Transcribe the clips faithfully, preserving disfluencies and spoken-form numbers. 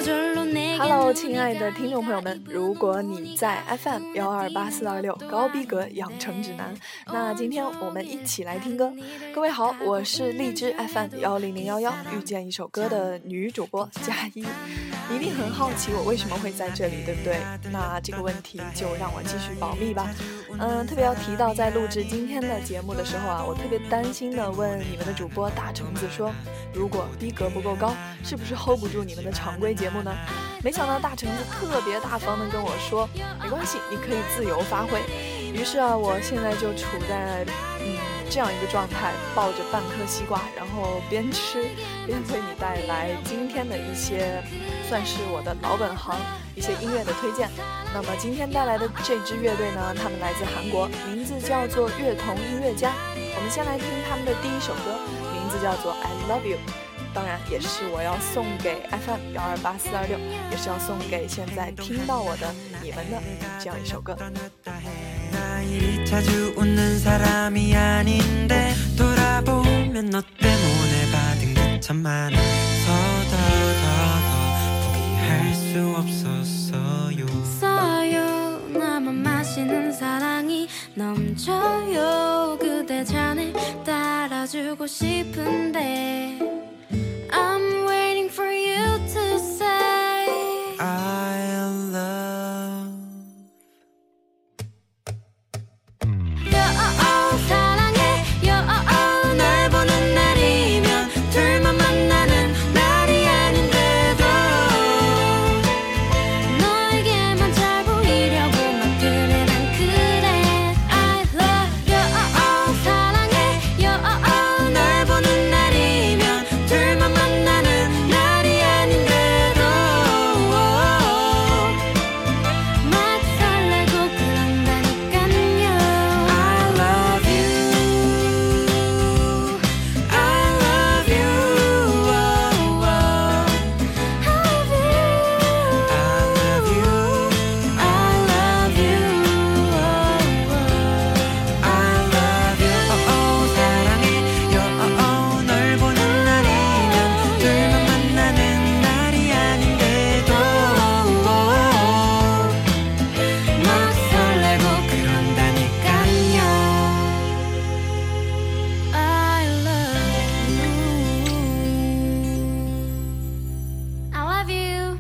Hello， 亲爱的听众朋友们，如果你在 F M 一二八四二六高逼格养成指南，那今天我们一起来听歌。各位好，我是荔枝 F M 一零零一一遇见一首歌的女主播佳一。你一定很好奇我为什么会在这里，对不对？那这个问题就让我继续保密吧。嗯，特别要提到，在录制今天的节目的时候啊，我特别担心的问你们的主播大橙子说，如果逼格不够高，是不是 hold 不住你们的常规节目呢？没想到大橙子特别大方的跟我说，没关系，你可以自由发挥。于是啊，我现在就处在嗯这样一个状态，抱着半颗西瓜，然后边吃边为你带来今天的一些算是我的老本行一些音乐的推荐。那么今天带来的这支乐队呢，他们来自韩国，名字叫做乐童音乐家。我们先来听他们的第一首歌，名字叫做 I Love You， 当然也是我要送给 F M 一二八四二六，也是要送给现在听到我的你们的这样一首歌。 I'm waiting for you to say I love you. 사랑해 you. 널 보는 날이면 둘만 만나는 날이 아닌데도 너에게만 잘 보이려고 막 그래 난 그래. I love you. 사랑해 you. 널 보는 날이면 둘만 만나는 날이 아닌데도 막 설레고 그런다니깐요. I love you. I love you. I love you. I love you. I love you. 사랑해 you. 널 보는 날이면 둘만 만나는 날이 아닌데도 막 설레고 그런다니깐요. I love you. I love you.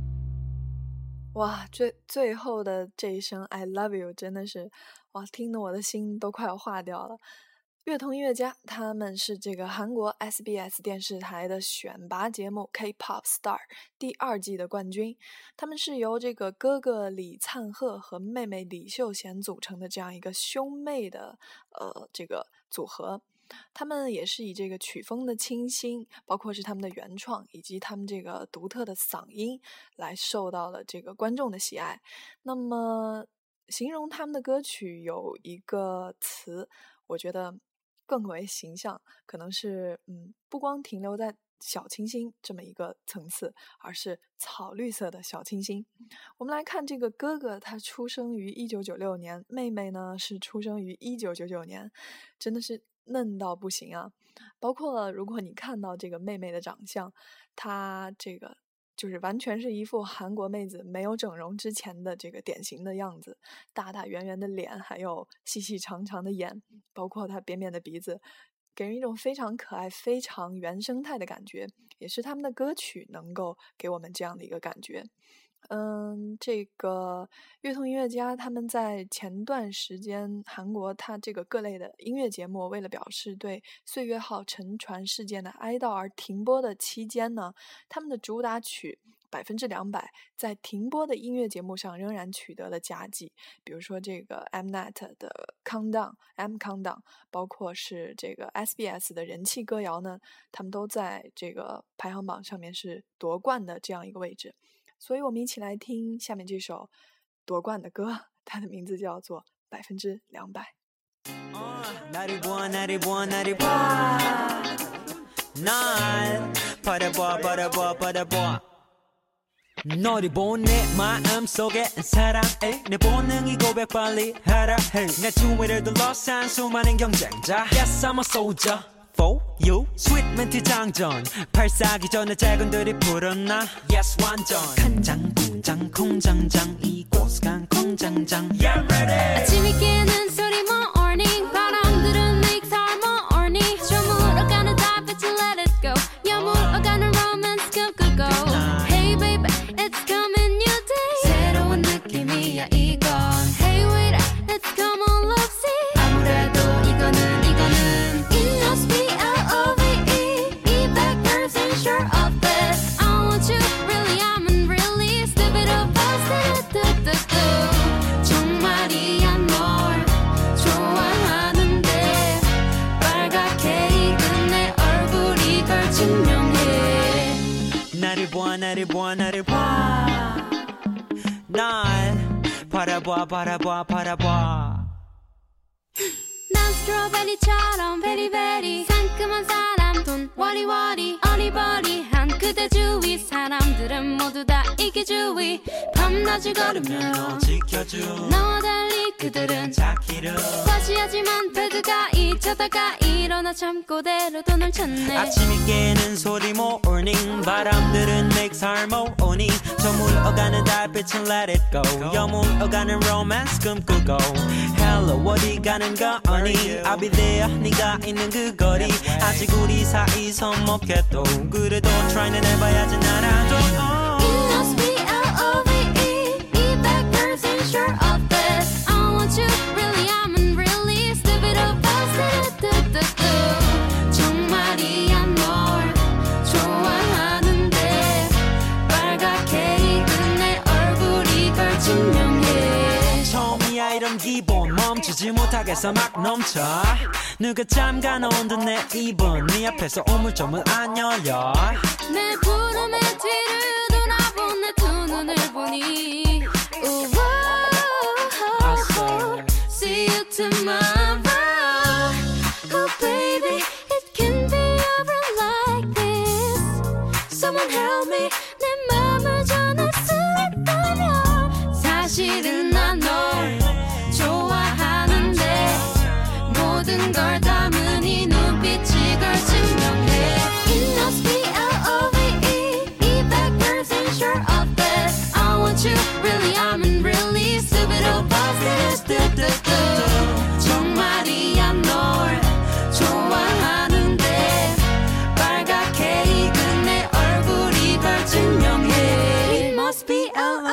哇，最最后的这一声 I love you 真的是哇，听得我的心都快要化掉了。乐童音乐家他们是这个韩国 S B S 电视台的选拔节目 K-pop Star 第二季的冠军，他们是由这个哥哥李灿赫和妹妹李秀贤组成的这样一个兄妹的呃这个组合。他们也是以这个曲风的清新，包括是他们的原创以及他们这个独特的嗓音来受到了这个观众的喜爱。那么形容他们的歌曲有一个词，我觉得更为形象，可能是嗯，不光停留在小清新这么一个层次，而是草绿色的小清新。我们来看这个哥哥，他出生于一九九六年，妹妹呢是出生于一九九九年，真的是嫩到不行啊。包括如果你看到这个妹妹的长相，她这个就是完全是一副韩国妹子没有整容之前的这个典型的样子，大大圆圆的脸，还有细细长长的眼，包括她扁扁的鼻子，给人一种非常可爱非常原生态的感觉，也是他们的歌曲能够给我们这样的一个感觉。嗯，这个乐童音乐家他们在前段时间韩国他这个各类的音乐节目为了表示对岁月号沉船事件的哀悼而停播的期间呢，他们的主打曲百分之两百在停播的音乐节目上仍然取得了佳绩，比如说这个 Mnet 的 Countdown M Countdown， 包括是这个 S B S 的人气歌谣呢，他们都在这个排行榜上面是夺冠的这样一个位置。所以我们一起来听下面这首夺冠的歌，它的名字叫做百分之两百。 나를 보아 나를 보아 나를 보아 날 바라보아 바라보아 바라보아 너를 본 내 마음속에 사랑해 내 본능이 고백 빨리 하라 해 내 주위를 둘러싼 수많은 경쟁자 Yes I'm a soldier for you 스윗 멘트 장전 발사기 전에 재건들이 불었나 yes 완전 간장 공장 공장장 이곳간 공장장 yeah ready 아침이 깨는 소리 morning 바람들은 make our morning 저물어가는 달빛을 let it go 여물어가는 romance 꿈꾸고 Hey baby it's coming new day 새로운 느낌이야 이건 Hey wait let's come on love see 아무래도 이거는 이거는 It must be L-O-V-E 이 back person sure of this I want you really I'm in really stupid of us do-do-do-do 정말이야 널 좋아하는데 빨갛게 익은 내 얼굴이 걸 증명해 나를 봐 나를 봐 나를 봐날 바라봐 바라봐 바라봐 난 스트로베리처럼 베리베리 상큼한 사람 돈 워리워리 어리버리한 그대 주위 사람들은 모두 다 이기주의 밤낮을 걸으며 너 지켜줘 너와 달리 그들은 자기를 과시하지만 배드가 잊혀다가 일어나 참고대로 돈을 찾네 아침이 깨는 소리 morning 바람들은 make harmony 저물어가는 달빛은 let it go 여물어가는 romance 꿈꾸고 hello 어디 가는 거니 I'll be there 네가 있는 그 거리 아직 우리 사이 서먹해도 그래도 try는 해봐야지 나라도 It must be L-O-V-E 이 back person sure of this I want you really I'm in really stupid of us do-do-do-do 정말이야 널 좋아하는데 빨갛게 익은 내 얼굴이 걸 증명해 처음이야 이런 기분 멈추지 못하겠어 막 넘쳐 누가 잠가놓은 듯 내 입은 네 앞에서 우물쭈물 안 열려 내 부름의 뒤를 돌아본 내 두 눈을 보니 I say See you tomorrow Oh baby it can be over like this Someone help me 내 맘을 전할 수 있다면 사실은 난 널 좋아하는데 모든 걸 담은 이 눈빛이 걸 증명해 It must be L-O-V-E 이 back person sure of this I want you really I'm in really stupid of us do-do-do 정말이야 널 좋아하는데 빨갛게 익은 내 얼굴이 걸 증명해 It must be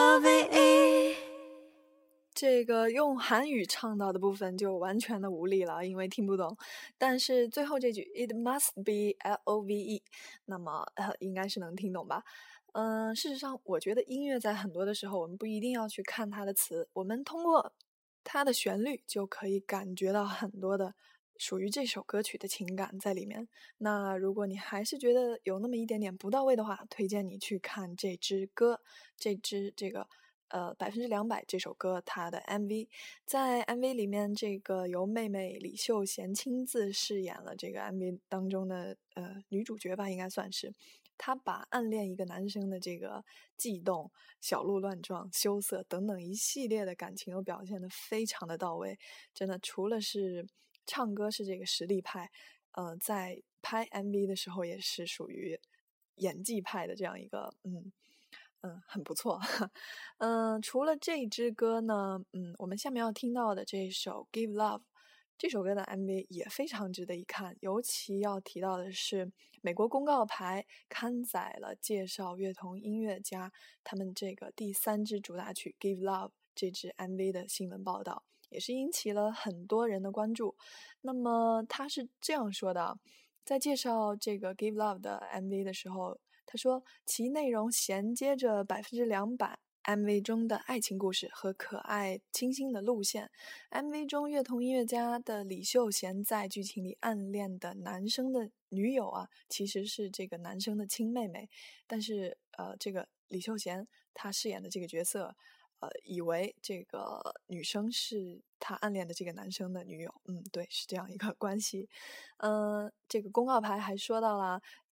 L-O-V-E 这个用韩语唱到的部分就完全的无力了，因为听不懂。但是最后这句 It must be L O V E， 那么、呃、应该是能听懂吧？嗯、呃，事实上，我觉得音乐在很多的时候，我们不一定要去看它的词，我们通过它的旋律就可以感觉到很多的属于这首歌曲的情感在里面。那如果你还是觉得有那么一点点不到位的话，推荐你去看这支歌，这支这个。呃，百分之两百这首歌它的 M V， 在 M V 里面，这个由妹妹李秀贤亲自饰演了这个 M V 当中的呃女主角吧，应该算是。她把暗恋一个男生的这个悸动、小鹿乱撞、羞涩等等一系列的感情都表现得非常的到位。真的，除了是唱歌是这个实力派，呃，在拍 M V 的时候也是属于演技派的这样一个嗯。嗯，很不错。嗯，除了这支歌呢，嗯，我们下面要听到的这首《Give Love》这首歌的 M V 也非常值得一看，尤其要提到的是美国公告牌刊载了介绍乐童音乐家他们这个第三支主打曲《Give Love》这支 M V 的新闻报道，也是引起了很多人的关注。那么他是这样说的，在介绍这个《Give Love》的 M V 的时候，他说其内容衔接着百分之两百 M V 中的爱情故事和可爱清新的路线。 M V 中乐童音乐家的李秀贤在剧情里暗恋的男生的女友啊，其实是这个男生的亲妹妹，但是呃，这个李秀贤他饰演的这个角色呃，以为这个女生是他暗恋的这个男生的女友。嗯，对，是这样一个关系。嗯、呃，这个公告牌还说到了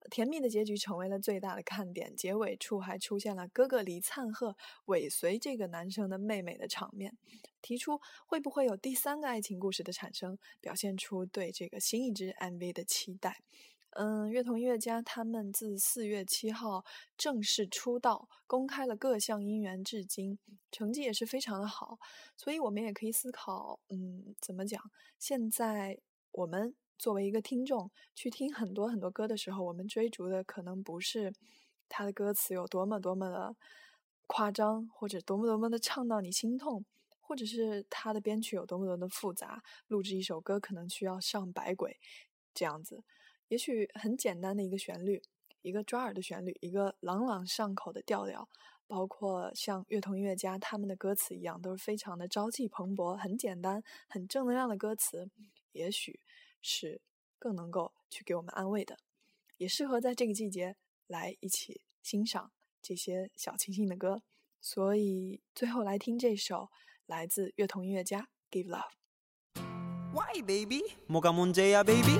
甜蜜的结局成为了最大的看点，结尾处还出现了哥哥黎灿赫尾随这个男生的妹妹的场面，提出会不会有第三个爱情故事的产生，表现出对这个新一支 M V 的期待。嗯，乐童音乐家他们自四月七号正式出道，公开了各项音源至今，成绩也是非常的好，所以我们也可以思考，嗯，怎么讲？现在我们作为一个听众去听很多很多歌的时候，我们追逐的可能不是他的歌词有多么多么的夸张，或者多么多么的唱到你心痛，或者是他的编曲有多么多么的复杂，录制一首歌可能需要上百轨这样子。也许很简单的一个旋律，一个抓耳的旋律，一个朗朗上口的调调，包括像乐童音乐家他们的歌词一样，都是非常的朝气蓬勃，很简单很正能量的歌词，也许是更能够去给我们安慰的，也适合在这个季节来一起欣赏这些小清新的歌。所以最后来听这首来自乐童音乐家 Give Love。Why baby? 뭐가 문제야 baby?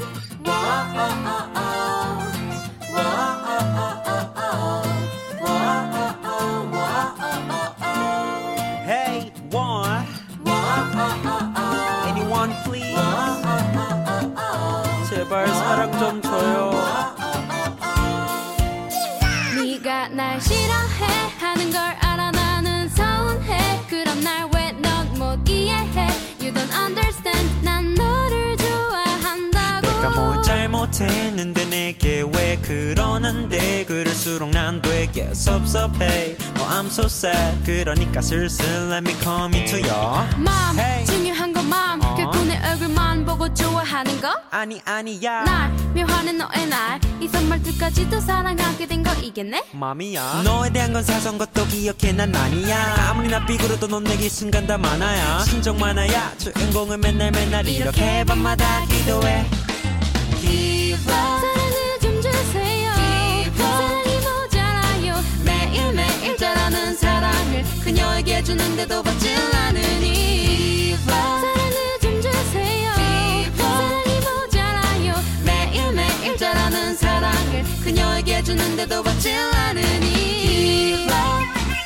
Hey one anyone please 제발 사랑 좀 줘요 네가 날 싫어해 하는 걸 알아 나는 서운해 그럼 날 왜 넌 못 이해해 You don't understand 난 너를 좋아한다고 내가 뭘 잘못했는데 내게 왜 그러는데 그럴수록 난 되게 섭섭해 Oh I'm so sad 그러니까 슬슬 let me come into your Mom hey. 중요한 건 mom 어? 결국 내 얼굴만 보고 좋아하는 거 아니 아니야 날 묘하는 너의 날 이 선물들까지도 사랑하게 된 거 이겠네 맘이야 너에 대한 건 사소한 것도 기억해 난 아니야 아무리 나 삐그러도 넌 내게 순간 다 많아야 신정 많아야 주인공을 맨날 맨날 이렇게 밤마다 기도해 Give love 사랑을 좀 주세요 Give love 사랑이 모자라요 매일매일 자라는 사랑을 그녀에게 주는데도 받질 않으니 Give love 사랑을 좀 주세요 Give love 사랑이 모자라요 매일매일 자라는 사랑을 그녀에게 주는데도 받질 않으니 Give love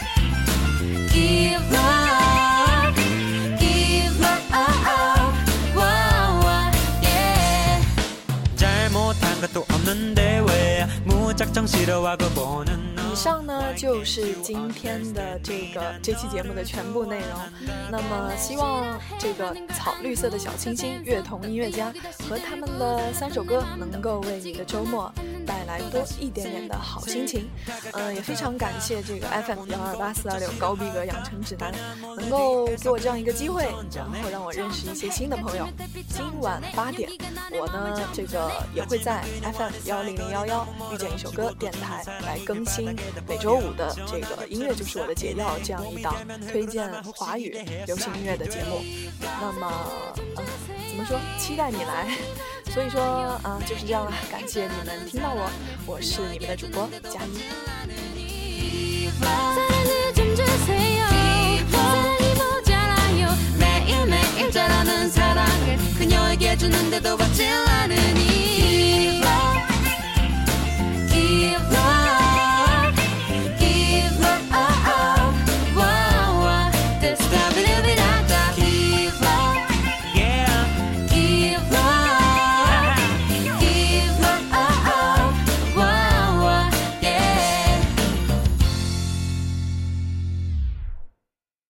Give love Give love wow, wow, yeah. 잘못한 것도 없는데 왜 무작정 싫어하고 보는 너 以上呢就是今天的这个这期节目的全部内容。那么希望这个草绿色的小清新乐童音乐家和他们的三首歌能够为你的周末带来多一点点的好心情。嗯、呃，也非常感谢这个 F M 幺二八四二六高逼格养成指南能够给我这样一个机会，然后让我认识一些新的朋友。今晚八点，我呢这个也会在 F M 幺零零幺幺遇见一首歌电台来更新每周五的这个音乐就是我的解药这样一档推荐华语流行音乐的节目。那么，呃，怎么说？期待你来。所以说啊、呃，就是这样了。感谢你们听到我，我是你们的主播佳一。 사랑을 좀 주세요 사랑이 모자라요 매일매일 자라는 사랑을 그녀에게 주는데도 받질 않으니